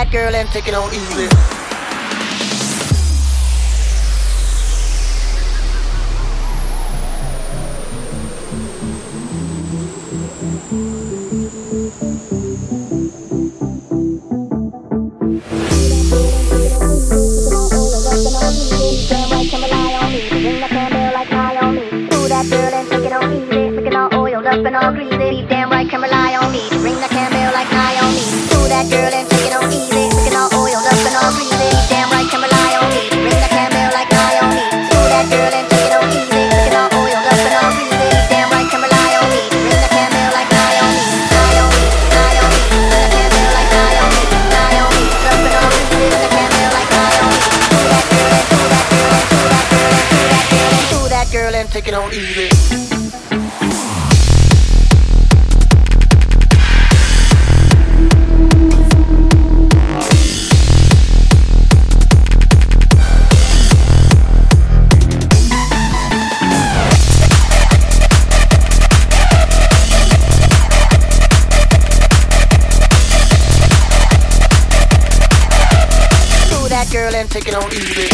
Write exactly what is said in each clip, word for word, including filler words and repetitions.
that girl and take it on easy. Up and all greasy, damn right, can rely on me to bring that caramel like Naomi. Do that girl and take it on easy, looking all oiled up and all greasy. Damn right, can rely on me to bring that caramel like Naomi. Do that girl and take it on easy, looking all oiled up and all greasy. Damn right, can rely on me to bring that caramel like Naomi. Naomi, Naomi, bring that caramel like Naomi. Naomi, up and all greasy, bring that caramel like Naomi. Do that girl and do that girl and do that girl and do that girl and Do that girl and take it on easy. Girl and take it on easy.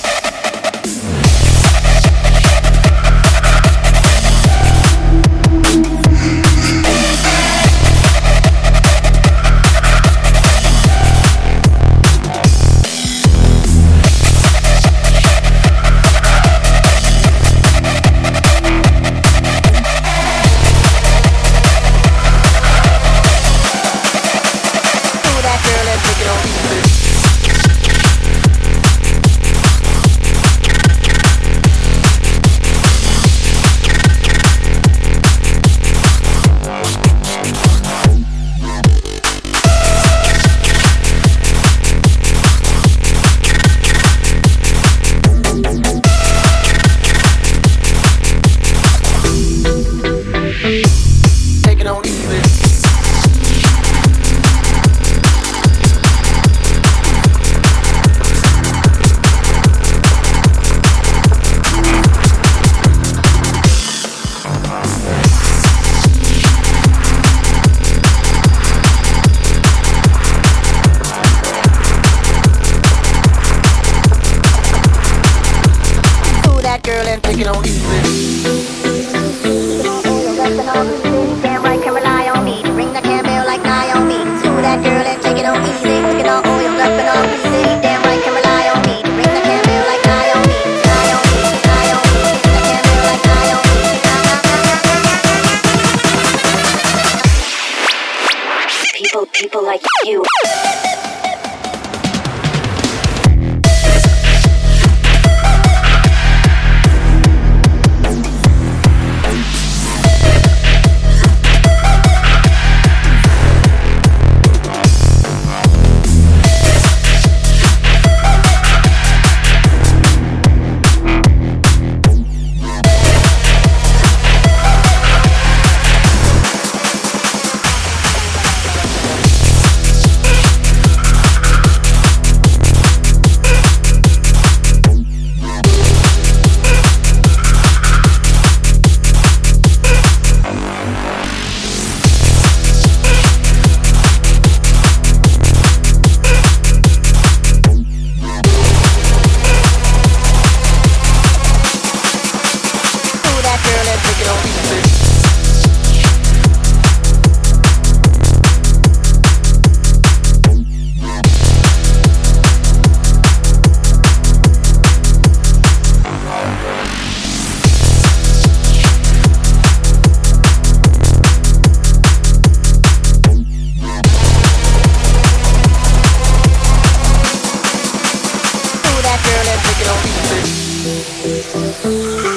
Girl and take it on easy. Damn right, can rely on me to bring that caramel like Naomi. Do that girl and take it on easy, looking all oiled up and all greasy. Damn right, can rely on me to bring that caramel like Naomi. Naomi, Naomi, bring that caramel like Naomi. People, people like you. Girl and take it on easy.